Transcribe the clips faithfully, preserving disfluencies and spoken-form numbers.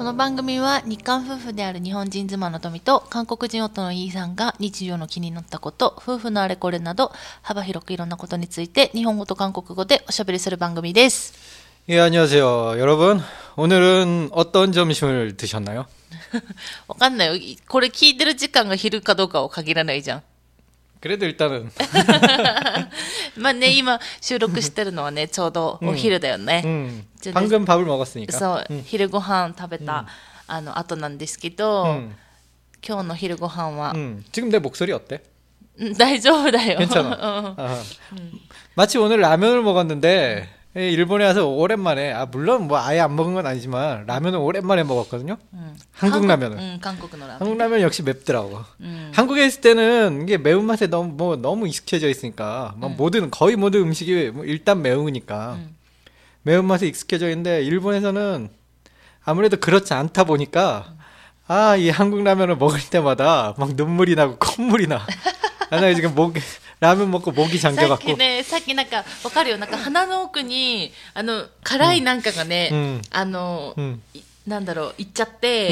この番組は日韓夫婦である日本人妻の富と韓国人夫のイーさんが日常の気になったこと、夫婦のあれこれなど幅広くいろんなことについて日本語と韓国語でおしゃべりする番組です。 예, 안녕하세요. 여러분, 오늘은 어떤 점심을 드셨나요? わかんないよ。これ聞いてる時間が昼かどうかを限らないじゃん。 그래도 일단은 まあね、今収録してるのはね、ちょうどお昼だよね。 음, 방금 밥을 먹었으니까. そう、 음. 昼ご飯食べた、 음. あの後なんですけど、 음. 今日の昼ご飯は、 음. 지금 내 목소리 어때? 大丈夫だよ。 괜찮아. 아. 마치 오늘 라면을 먹었는데 일본에 와서 오랜만에, 아 물론 뭐 아예 안 먹은 건 아니지만 라면을 오랜만에 먹었거든요. 음. 한국, 한국 라면을. 음, 한국 라면. 한국 라면 역시 맵더라고. 음. 한국에 있을 때는 이게 매운맛에 너무 뭐 너무 익숙해져 있으니까 뭐 음. 모든 거의 모든 음식이 뭐 일단 매우니까 음. 매운맛에 익숙해져 있는데 일본에서는 아무래도 그렇지 않다 보니까 아, 이 한국 라면을 먹을 때마다 막 눈물이 나고 콧물이 나. 아, 나 지금 목ラーメン먹고 목이 잠겨갖고. さっきね、さっきなんかわかるよ。なんか鼻の奥にあの辛いなんかがね、 うん、 あの、うん、なんだろう、いっちゃって、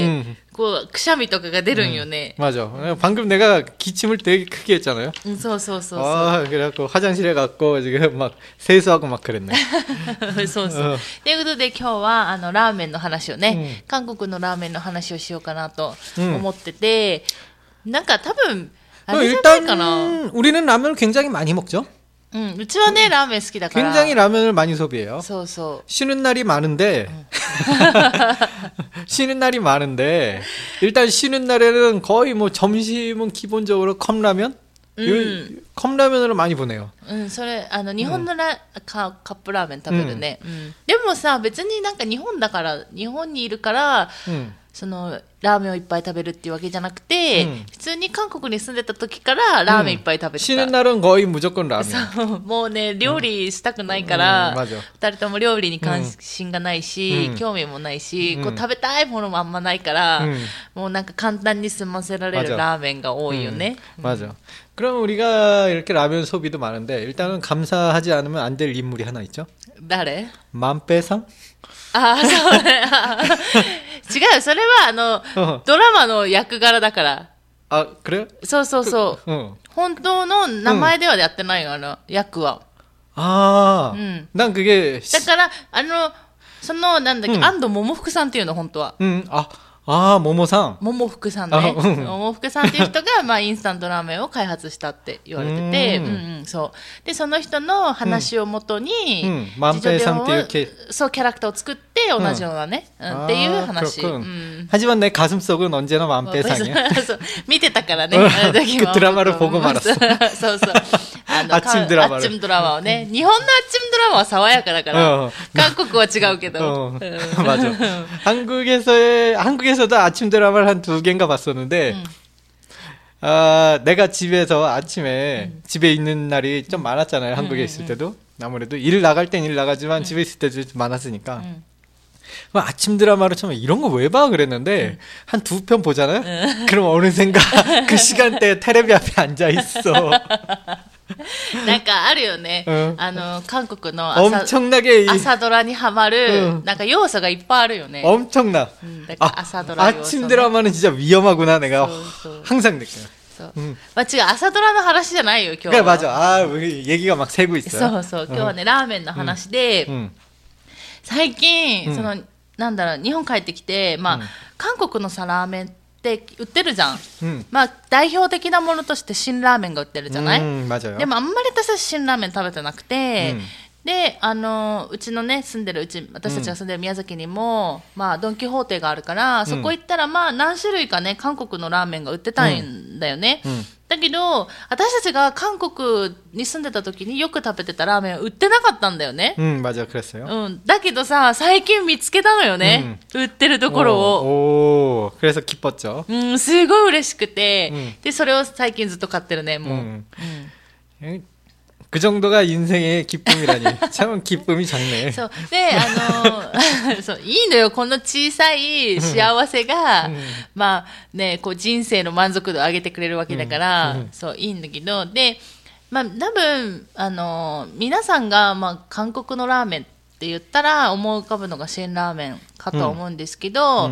음. こうくしゃみとかが出るんよね。 음. 맞아. 방금 내가 기침을 되게 크게 했잖아요. 응, そうそうそうそう。 아, 그래갖고 화장실에 갔고 지금 막 세수하고 막 그랬네. そうそう。ということで今日はあのラーメンの話をね、うん、韓国のラーメンの話をしようかなと思ってて、うん、なんか多分 일단 우리는 라면을 굉장히 많이 먹죠. 응, 우리는 네, 라면 好きだから 굉장히 라면을 많이 소비해요. そうそう 쉬는 날이 많은데 응. 쉬는 날이 많은데 일단 쉬는 날에는 거의 뭐 점심은 기본적으로 컵라면, 음. 컵라면으로 많이 보내요. 응, それあの日本のラカップラーメン食べるね。でもさ、別になんか日本だから日本にいるから、 そのラーメンをいっぱい食べるっていうわけじゃなくて、うん、普通に韓国に住んでた時からラーメンいっぱい食べてた。 쉬는 날은 거의 무조건ラーメン。もうね、料理したくないから、ふたりとも料理に関心がないし、興味もないし、こう食べたいものもあんまないから、もうなんか簡単に済ませられるラーメンが多いよね。 맞아. 그럼 우리가 이렇게 라면 소비도 많은데 일단은 감사하지 않으면 안 될 인물이 하나 있죠. 誰? 만배상? ああ、そうね。違う、それはあのドラマの役柄だから。 あ、그래요? そうそうそう。本当の名前ではやってないよ、あの役は。ああ、 なん그게 だからあのそのなんだっけ、安藤桃福さんっていうの本当は。うん、 あ。ああ、桃さん。 桃福さんね。桃福さんっていう人が、まあ、インスタントラーメンを開発したって言われてて、うんうん、そう。で、その人の話をもとに、 万平さんっていうキャラクターを作って、同じようなね、っていう話。 하지만 내 가슴속은 언제나 만배상이야. 見てたからね、あの時も。 그 드라마를 보고 말았어. そうそう。 아침 드라마를. 아침 드라마をね。日本の아침 드라마は爽やかだから、韓国は違うけど。 맞아. 한국에서의 한국에서도 아침 드라마를 한 두 개인가 봤었는데, 음. 아, 내가 집에서 아침에 음. 집에 있는 날이 좀 많았잖아요. 한국에 음, 있을 때도. 아무래도 일 나갈 땐 일 나가지만 음. 집에 있을 때도 좀 많았으니까. 음. 아침 드라마를 처음에 이런 거 왜 봐? 그랬는데, 음. 한 두 편 보잖아요? 음. 그럼 어느샌가 그 시간대에 테레비 앞에 앉아 있어. なんかあるよね。あの韓国の 엄청나게 朝ドラにハマるなんか要素がいっぱいあるよね。 엄청나. 朝ドラ 아침 드라마는 진짜 위험하구나 내가 항상 느껴요. まあ違う、朝ドラの話じゃないよ今日は。 맞아. 아, 얘기가 막 새고 있어요. そうそう、今日はねラーメンの話で、最近そのなんだろう、日本帰ってきて、まあ韓国のさラーメンって売ってるじゃん、うん、まあ代表的なものとして辛ラーメンが売ってるじゃない、うん、でもあんまり私は辛ラーメン食べてなくて、うん、であのうちのね住んでるうち私たちが住んでる宮崎にも、うん、まあドン・キホーテがあるから、そこ行ったらまあ何種類かね韓国のラーメンが売ってたんだよね、うんうん、だけど私たちが韓国に住んでた時によく食べてたラーメンは売ってなかったんだよね。 음, 맞아, 그랬어요. うん、だけどさ最近見つけたのよね、うん、売ってるところを。 오, 오, 그래서 기뻤죠. うん、すごい嬉しくて、うん、でそれを最近ずっと買ってるねもう。 음. 음. 그 정도가 인생의 기쁨이라니. 참 기쁨이 작네. そうであのそういいのよこの小さい幸せが、うん、まあねこう人生の満足度を上げてくれるわけだから、うん、そういいんだけど、でまあ多分あの皆さんがまあ韓国のラーメンって言ったら思い浮かぶのが辛ラーメンかと思うんですけど、うんうん、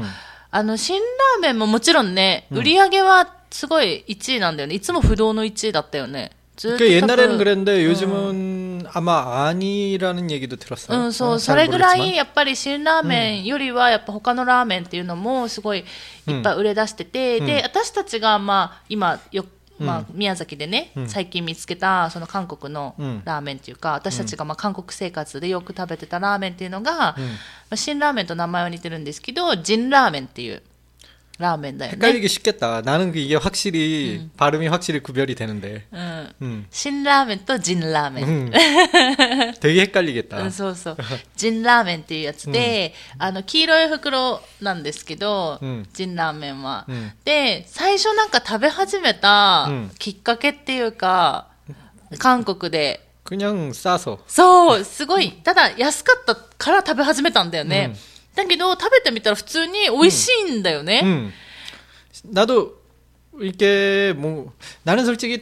あの辛ラーメンももちろんね、売り上げはすごいいちいなんだよね。いつも不動のいちいだったよね。 그 옛날에는 그랬는데 요즘은 음. 아마 아니라는 얘기도 들었어요. 응, 소, それぐらいやっぱり辛ラーメンよりはやっぱ他のラーメンっていうのもすごいいっぱい売れ出してて、うん、で私たちがまあ今よまあ、宮崎でね、うん、最近見つけたその韓国のラーメンっていうか、うん、私たちがまあ韓国生活でよく食べてたラーメンっていうのが、うんまあ、辛ラーメンと名前は似てるんですけどジンラーメンっていうラーメンだよね。 헷갈리기 쉽겠다. 나는 이게 확실히 음. 발음이 확실히 구별이 되는데. 음. 음. 신라멘 또 진라멘. 음. 되게 헷갈리겠다. 음, そうそう。진라멘っていうやつで、うん、あの黄色い袋なんですけど、うん、진라멘は、うん、で最初なんか食べ始めたきっかけっていうか、うん、韓国で。 그냥 싸서. そうすごいただ安かったから食べ始めたんだよね。うんだけど食べてみたら普通に美味しいんだよね。 음. 음. 나도 이게 뭐 나는 솔직히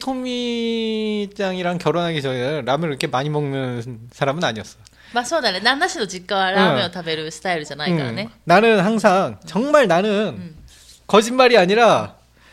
토미짱이랑 결혼하기 전에 라면을 이렇게 많이 먹는 사람은 아니었어. まあそうだね。旦那氏の実家はラーメンを食べるスタイルじゃないからね。 음. 나는 항상 정말 나는 음. 거짓말이 아니라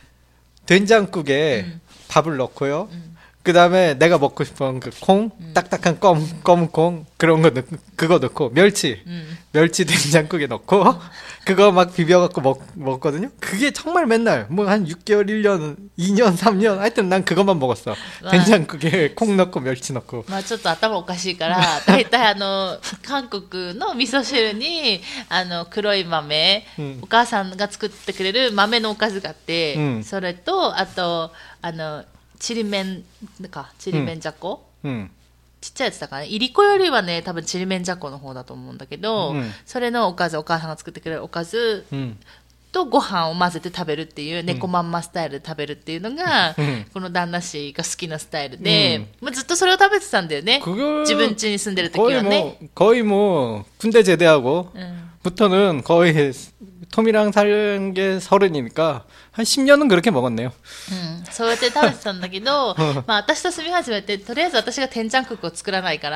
된장국에 음. 밥을 넣고요. 음. 그 다음에 내가 먹고 싶은 그 콩, 음. 딱딱한 검, 검은 콩, 그런 거 넣, 그거 넣고, 멸치, 음. 멸치 된장국에 넣고, 음. 그거 막 비벼갖고 먹, 먹거든요? 그게 정말 맨날, 뭐 한 육 개월, 일 년, 이 년, 삼 년, 하여튼 난 그것만 먹었어. 된장국에 콩 넣고, 멸치 넣고. まあちょっと頭おかしいから、だいたいあの、韓国の味噌汁に、あの、黒い豆、うん、お母さんが作ってくれる豆のおかずがあって、うん、それと、あと、あの、ちりめんかちりめんじゃこ、うん、ちっちゃいやつだからね。いりこよりはね多分ちりめんじゃこの方だと思うんだけど、うん、それのおかずお母さんが作ってくれるおかず、うん、とご飯を混ぜて食べるっていう、うん、猫まんまスタイルで食べるっていうのが、うん、この旦那氏が好きなスタイルで、うんまあ、ずっとそれを食べてたんだよね。自分家に住んでる時はね。 거의 뭐 군대 제대하고 부터는 거의 톰이랑 살은 게 서른이니까 한 십 년은 그렇게 먹었네요. うん、そうやって食べてたんだけど、まあ私と住み始めてとりあえず私が天ちゃんクックを作らないから、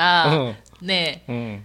ねえ、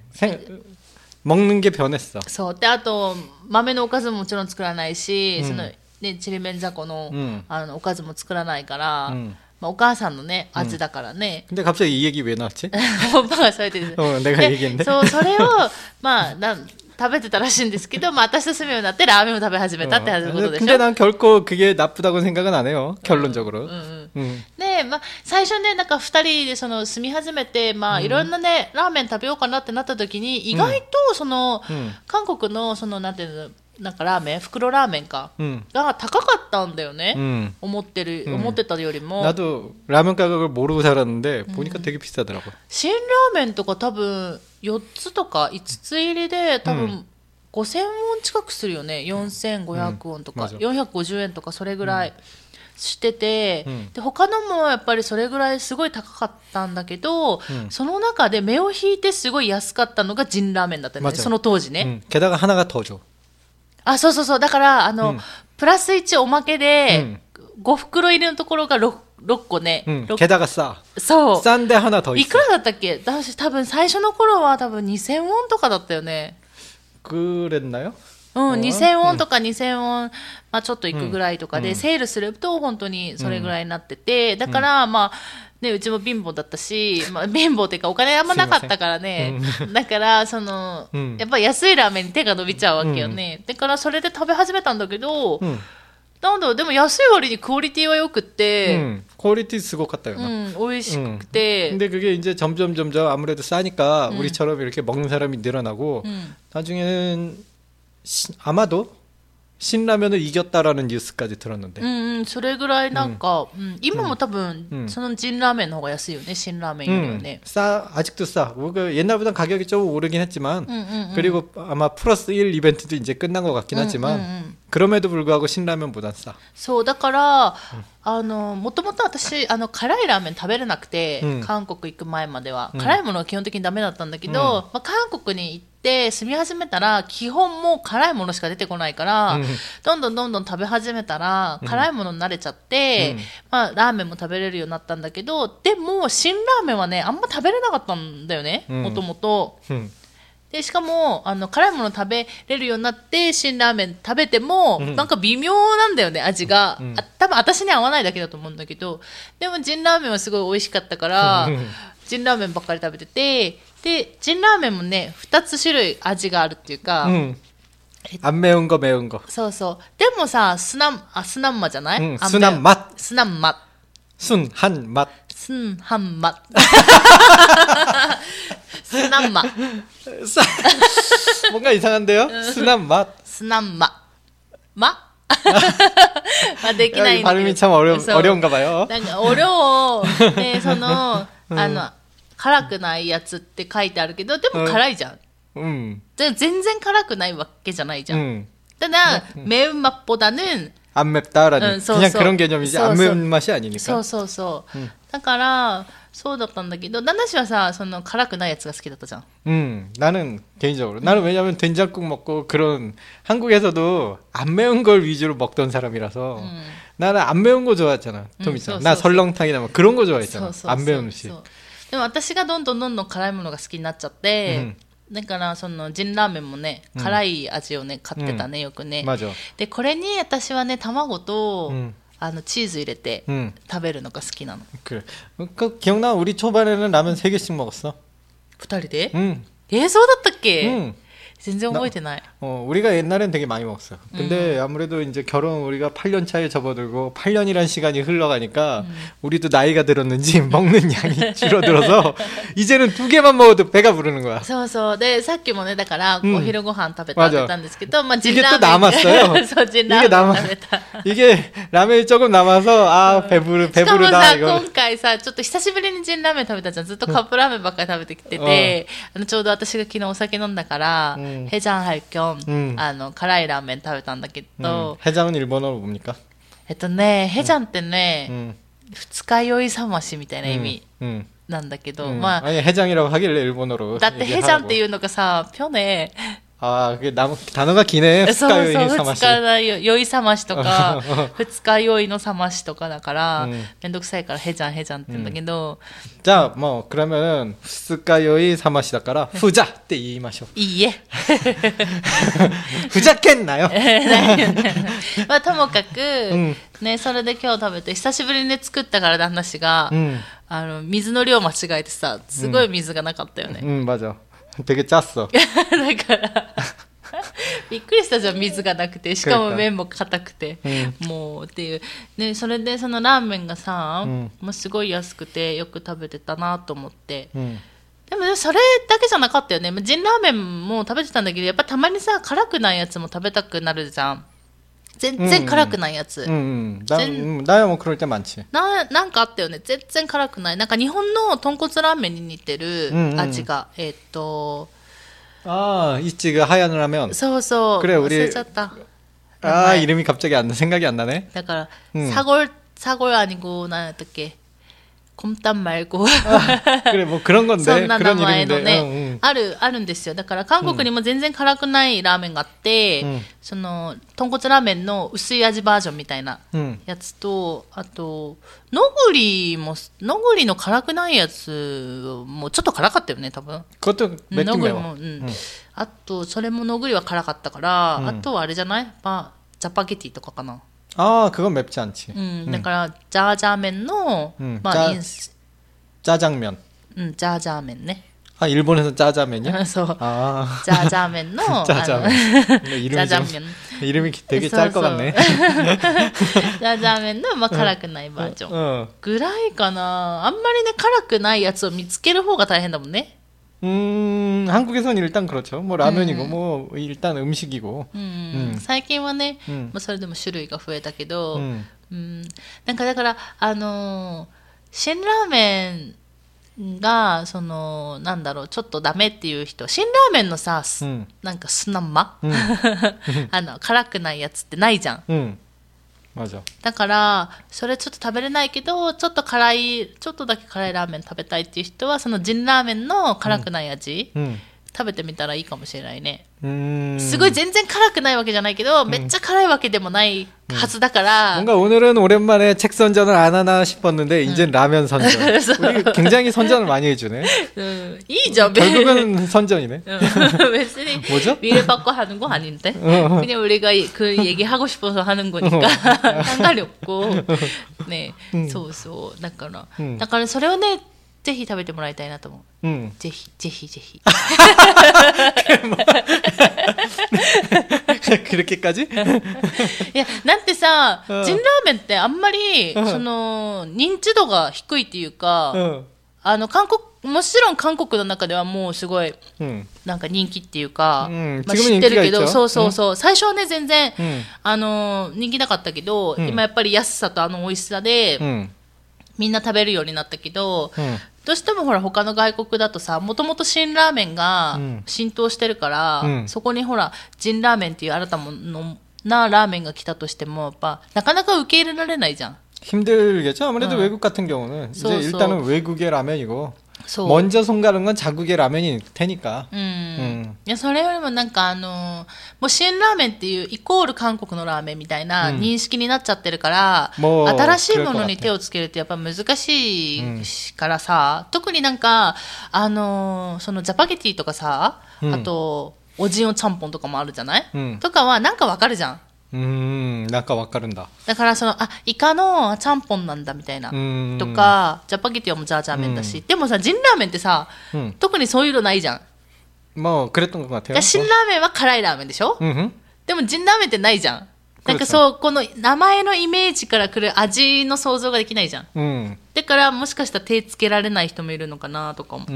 먹는 게 변했어. そうであと豆のおかずももちろん作らないし、そのねちりめんじゃこのあのおかずも作らないから。まあ、お母さんのね味だからね。 근데 갑자기 이 얘기 왜 나왔지? オパがそうやってる。 어, 내가 얘기했는데. そうそれをまあなん食べてたらしいんですけど、まあ私と住むようになってラーメンを食べ始めたってことでしょ。 근데 난 결코 그게 나쁘다고 생각은 안 해요. 결론적으로. で、まあ最初ねなんか二人でその住み始めてまあいろんなねラーメン食べようかなってなった時に意外とその韓国のそのなんていうのなんかラーメン袋ラーメンか、うん、が高かったんだよね、うん、思ってる、うん、思ってたよりも。 나도 라면 가격을 모르고 살았는데 보니까 되게 비싸더라고. 辛ラーメンとか多分よっつとかいつつ入りで多分ごせんウォン近くするよね。よんせんごひゃくウォンとか、うん、よんひゃくごじゅうえんとかそれぐらいしてて、うん、で他のもやっぱりそれぐらいすごい高かったんだけど、うん、その中で目を引いてすごい安かったのがジンラーメンだったんですね。その当時ね、 うん、게다가 하나가 더 줘。 あ、そうそうそう。だからあの、うん、プラスいちおまけで、うん、ご袋入りのところが 6, ろっこね。 うん、게다가 싸。 そう。 싼で하나 더 있어。 いくらだったっけ？私多分最初の頃は多分にせんウォンとかだったよね。 그랬나요？ うん、にせんウォンとかにせんウォン、まあちょっといくぐらいとかで、うん、セールすると本当にそれぐらいになってて、うん、だからまあね、うちも貧乏だったし、まあ、貧乏っていうかお金あんまなかったからね、だからその、うん、やっぱ安いラーメンに手が伸びちゃうわけよね、うん、だからそれで食べ始めたんだけど、うん、なんだろうでも安い割にクオリティはよくって、うん、 퀄리티すごかったよな、 うん、美味しくて、 うん、근데 그게 이제 점점 점점 아무래도 싸니까 음. 우리처럼 이렇게 먹는 사람이 늘어나고 음. 나중에는 시, 아마도 신라면을 이겼다라는 뉴스까지 들었는데. うんうん、それぐらいなんか、うん、今も多分、うん、そのジンラーメンの方が安いよね、辛ラーメンよりはね。 음, 싸, 아직도 싸. 옛날보다 가격이 좀 오르긴 했지만, 음, 음, 음. 그리고 아마 플러스 일 이벤트도 이제 끝난 것 같긴 음, 하지만, 음, 음. 그럼에도 불구하고 신라면보단 싸. そう、だから、음. あのもともと私あの辛いラーメン食べれなくて、うん、韓国行く前までは、うん、辛いものは基本的にダメだったんだけど、うんまあ、韓国に行って住み始めたら基本もう辛いものしか出てこないから、うん、どんどんどんどん食べ始めたら、うん、辛いものに慣れちゃって、うんまあ、ラーメンも食べれるようになったんだけどでも辛ラーメンはねあんま食べれなかったんだよねもともと。 でしかもあの辛いもの食べれるようになって辛ラーメン食べても、うん、なんか微妙なんだよね味が、うん、あ多分私に合わないだけだと思うんだけど、でもジンラーメンはすごい美味しかったから、うん、ジンラーメンばっかり食べてて、でジンラーメンもねふたつ種類味があるっていうか、 うん안 매운 거 매운 거。 そうそう。でもさ、スナン、あ、スナンマじゃない？うん、 スナンマ。 スナンマ。 スンハンマ。 スンハンマ。スナンマ。 뭔가 이상한데요?スナンマ。 スナンマ。ま？あできないんだけど。 발음이 참 어려 어려운가 봐요. なんか어려워。でそのあの辛くないやつって書いてあるけど、でも辛いじゃん。うん、全然辛くないわけじゃないじゃん。うん、ただ、うん、매운맛보다는 안 맵다라는 응, 그냥 그런 개념이지 안 매운 맛이 아니니까. そうそうそう。 응. だからそうだったんだけど、旦那氏はさ、その辛くないやつが好きだったじゃん。 음, 나는 개인적으로 나는 왜냐면 된장국 먹고 그런 한국에서도 안 매운 걸 위주로 먹던 사람이라서 음. 나는 안 매운 거 좋아했잖아. 좀 있잖아. 나 설렁탕이나 뭐 그런 거 좋아했잖아. 안 매운 음식. でも私がどんどんどんどん辛いものが好きになっちゃって、うんだからそのジンラーメンもね、うん、辛い味をね買ってたね、うん、よくね。でこれに私はね卵と、うん、あのチーズ入れて食べるのが好きなの。 그래。그 기억나? 우리 초반에는 라면 세 개씩 먹었어. 二人で？ 응. えー、そうだったっけ？ 응. 全然覚えてない。 어, 우리가 옛날엔 되게 많이 먹었어. 근데 음. 아무래도 이제 결혼 우리가 팔 년 차에 접어들고 팔 년이란 시간이 흘러가니까 음. 우리도 나이가 들었는지 먹는 양이 줄어들어서 이제는 두 개만 먹어도 배가 부르는 거야. そうそう。で、さっきもね、だからお昼ご飯食べたって言ったんですけど、まあ 이게 또 남았어요. そう、ジンラーメン食べた。 이게 라면이 조금 남아서 아, 배부르 배부르다 이거. 今回さ、ちょっと久しぶりにジンラーメン食べたじゃん。ずっとカップラーメンばっかり食べてきてて、あのちょうど私が昨日お酒飲んだから、 해장할 겸 음. あの辛いラーメン食べたんだけど、 음. 해장은 일본어로 뭡니까? えっとね、해장ってね、 음. 二日酔い覚ましみたいな意味なんだけど、 음. まあ 아니 해장이라고 하길래 일본어로. だって 해장っていうのがさ、편해. 아, 그게 남, 단어가 기네. 二日酔い覚まし。 二日酔い覚ましとか、二日酔いの覚ましとかだから、めんどくさいからヘジャンヘジャンって言うんだけど。 じゃあ、もう、그러면은二日酔い覚ましだから、ふざって言いましょう。 いいえ。 ふざけんなよ。 まあ、ともかく、ね、それで今日食べて、久しぶりに作ったから旦那氏が、あの、水の量間違えてさ、すごい水がなかったよね。 うん、맞아。 되게 짰어. だからびっくりしたじゃん、水がなくて、しかも麺も硬くて、うん、もうっていうね。それでそのラーメンがさ、うん、もうすごい安くてよく食べてたなと思って、うん、でも、ね、それだけじゃなかったよね。ジンラーメンも食べてたんだけど、やっぱたまにさ辛くないやつも食べたくなるじゃん。全然辛くないやつ。 나야も그럴 때 많지。 な、なんかあったよね。全然辛くない。なんか日本の豚骨ラーメンに似てる味が、うんうん、えー、っと。 ああ、있지 그 하얀 라면。 そうそう。 그래 우리。 忘れちゃった。 あ、이름이 갑자기 안 생각이 안 나네。 だから、うん、사골 사골 아니고何だったっけ。곰탕 말고 그래 뭐 그런 건데 そんな名前のね、うんうん、あるあるんですよ。だから韓国にも全然辛くないラーメンがあって、うん、その豚骨ラーメンの薄い味バージョンみたいなやつと、うん、あとのぐりものぐりの辛くないやつもちょっと辛かったよね多分。のぐりも、うんうん、あとそれものぐりは辛かったから、うん、あとはあれじゃない、まあ、ジャパゲティとかかな。 아, 그건 맵지 않지. 음, 그러니까 짜장면노, 음, 짜, 짜장면. 음, 짜장면ね. 아, 일본에서 짜장면이야? 그래서 아, 짜장면노. 짜장면. 이름이 짜장면. 좀, 이름이 되게 짤 것 같네. 짜장면노, まあ辛くないバージョンぐらいかな。あんまりね辛くないやつを見つける方が大変だもんね。 음, 한국에선 일단 그렇죠. 뭐 라면이고 음. 뭐 일단 음식이고. 음, 最近はね、 음. まあそれでも種類が増えたけど、 음. うん、なんかだからあの辛ラーメンがそのなんだろうちょっとダメっていう人、辛ラーメンのさ、うん、なんかスナンマ、うん、あの辛くないやつってないじゃん。うん、 맞아。 だからそれちょっと食べれないけどちょっと辛いちょっとだけ辛いラーメン食べたいっていう人はそのジンラーメンの辛くない味、うんうん、食べてみたらいいかもしれないね。うーん、すごい全然辛くないわけじゃないけど、うん、めっちゃ辛いわけでもないはずだから、 뭔가 오늘은 오랜만에 책 선전을 안 하나 싶었는데 이제 라면 선전. 우리 굉장히 선전을 많이 해주네. 음, 이죠. 결국은 선전이네. 뭐죠? 위를 받고 하는 거 아닌데. 그냥 우리가 그 얘기 하고 싶어서 하는 거니까 상관이 없고. 네, そうそう。だから、だからそれをね、ぜひ食べてもらいたいなと思う。うん、ぜひぜひぜひ。 그렇게까지? いや、だってさ、ジンラーメンってあんまり、その、認知度が低いっていうか、あの、韓国、もちろん韓国の中ではもうすごい、なんか人気っていうか、まあ、知ってるけど、そうそうそう、最初はね、全然、あの、人気なかったけど、今やっぱり安さとあの美味しさで、みんな食べるようになったけど、どうしてもほら他の外国だとさ、もともと辛ラーメンが浸透してるから、うん、そこにほらジンラーメンっていう新たなラーメンが来たとしてもやっぱなかなか受け入れられないじゃん。 힘들겠죠. 아무래도 응. 외국 같은 경우는 이제 so, 일단은 so. 외국의 라면이고 so. 먼저 손가는 건 자국의 라면이 테니까. 음. 음. いやそれよりもなんかあのもう辛ラーメンっていうイコール韓国のラーメンみたいな認識になっちゃってるから、うん、新しいものに手をつけるってやっぱ難しいからさ、うん、特になんかあのそのジャパゲティとかさ、うん、あとおじんおちゃんぽんとかもあるじゃない、うん、とかはなんかわかるじゃん。 うーん、なんかわかるんだ。 だからそのあイカのちゃんぽんなんだみたいなとか、ジャパゲティはもうジャージャー麺だし、でもさジンラーメンってさ、うん、特にそういうのないじゃん。 もうくれたのかな。 辛ラーメンは辛いラーメンでしょ。うん、でもジンラーメンってないじゃん。なんかそうこの名前のイメージからくる味の想像ができないじゃん。うん、だからもしかしたら手つけられない人もいるのかなとか思って。うん、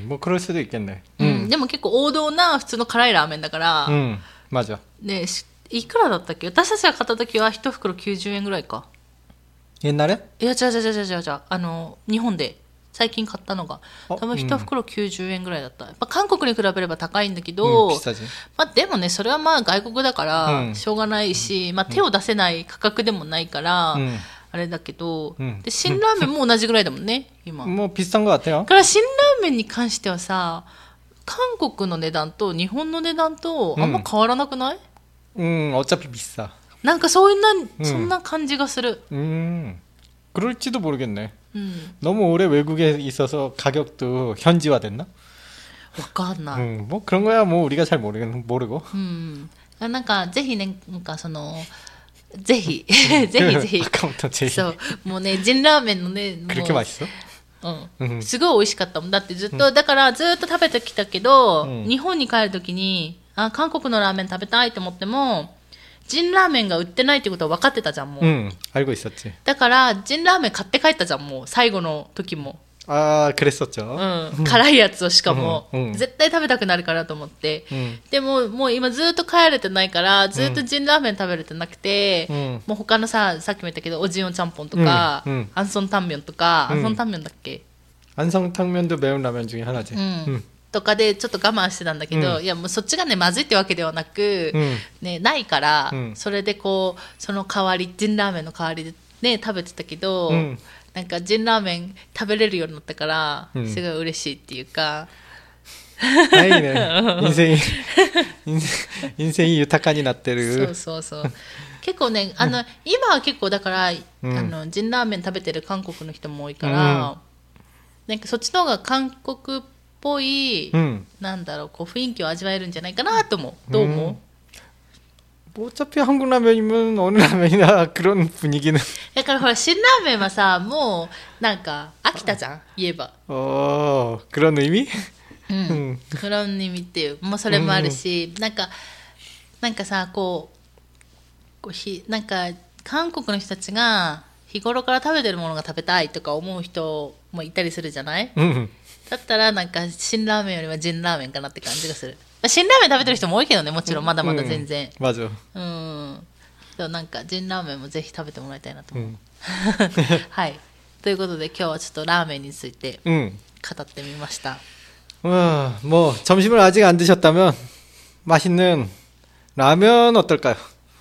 もう그럴 수도 있겠네。 うん、でも結構王道な普通の辛いラーメンだから。 うん、맞아。 ね。いくらだったっけ？私たちが買った時は一袋きゅうじゅうえんぐらいか。 옛날에？ いや違う違う違う違う違う。あの日本で最近買ったのが多分一袋きゅうじゅうえんぐらいだった。やっぱ韓国に比べれば高いんだけど、うん、まあでもねそれはまあ外国だからしょうがないし、うん、まあ手を出せない価格でもないから、うん、あれだけど、うん、で辛ラーメンも同じぐらいだもんね今。 もう비슷한 것 같아요。 だから辛ラーメンに関してはさ、韓国の値段と日本の値段とあんま変わらなくない？ 음, 어차피 비싸. なんかそういうな、うん、そんな感じがする. 음, 그럴지도 모르겠네. 음. 너무 오래 외국에 있어서 가격도 현지화됐나? わかんない. 음, 뭐 그런 거야 뭐 우리가 잘 모르, 모르고. 음, なんかぜひね、なんかそのぜひぜひぜひ. 아까부터 제. そう、もうね、ジンラーメンのね、 그렇게 맛있어? うん、すごい美味しかったもん。だってずっと、うん、だからずっと食べてきたけど、うん、日本に帰るときにあ韓国のラーメン食べたいと思ってもジンラーメンが売ってないってことは分かってたじゃんもう。うん、 알고 있었지。 だからジンラーメン買って帰ったじゃんもう最後の時も。 ああ、그랬었죠。 うん、辛いやつをしかも、うん、絶対食べたくなるからと思って、うん、でももう今ずっと帰れてないからずっとジンラーメン食べれてなくて、うん、もう他のささっきも言ったけどおじんおちゃんぽんとか、うんうん、アンソンタンミョンとか、うん、アンソンタンミョンだっけ。 안성탕면도 매운 라면 중에 하나지. 음. 음. とかでちょっと我慢してたんだけど、うん、いやもうそっちがねまずいってわけではなく、うんね、ないから、うん、それでこうその代わりジンラーメンの代わりでね食べてたけど、うん、なんかジンラーメン食べれるようになったから、うん、すごい嬉しいっていうか。 はいね。人生人生豊かになってる。 そうそうそう。結構ねあの今は結構だから、うん、あのジンラーメン食べてる韓国の人も多いから。うんなんかそっちの方が韓国っぽい、うん、なんだろうこう雰囲気を味わえるんじゃないかなと思う。どう思う？어차피 한국 라면이면 어느 라면이나 그런 분위기는. だからほら辛ラーメンはさもうなんか飽きたじゃん言えば。 어 그런 의미? うん。그런 의미っていうもうそれもあるし、なんかなんかさこうこうひなんか韓国の人たちが日頃から食べてるものが食べたいとか思う人もいたりするじゃない、うん、だったらなんか辛ラーメンよりはジンラーメンかなって感じがする。辛ラーメン食べてる人も多いけどねもちろんまだまだ全然。 うん、맞아。 うん。でもなんかジンラーメンもぜひ食べてもらいたいなと思う。うん、はい。ということで今日はちょっとラーメンについて語ってみました。 うん、もう점심을 아직 안 드셨다면 맛있는 라면 어떨까요?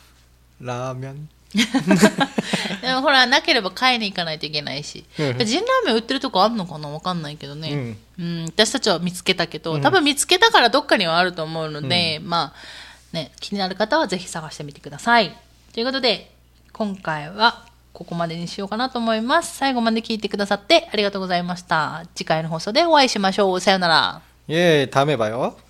라면。 でもほらなければ買いに行かないといけないし、うん、ジンラーメン売ってるとこあるのかなわかんないけどね、うんうん、私たちは見つけたけど、うん、多分見つけたからどっかにはあると思うので、うん、まあね気になる方はぜひ探してみてください。とということで、今回はここまでにしようかなと思います。最後まで聞いてくださってありがとうございました。次回の放送でお会いしましょう。さよなら。 예, 다음에 봐요.